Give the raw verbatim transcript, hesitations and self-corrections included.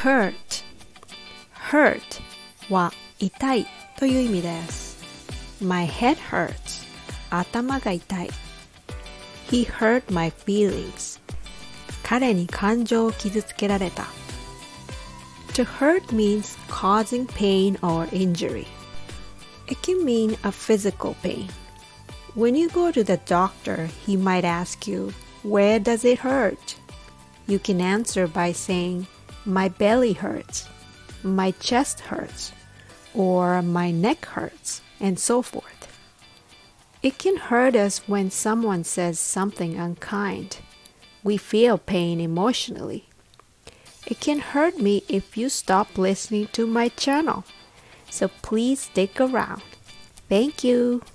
hurt hurt は痛いという意味です。 My head hurts 頭が痛い。 He hurt my feelings 彼に感情を傷つけられた。 To hurt means causing pain or injury. It can mean a physical pain. When you go to the doctor, he might ask you, where does it hurt? You can answer by saying, my belly hurts, my chest hurts, or my neck hurts, and so forth. It can hurt us when someone says something unkind. We feel pain emotionally. It can hurt me if you stop listening to my channel. So please stick around. Thank you.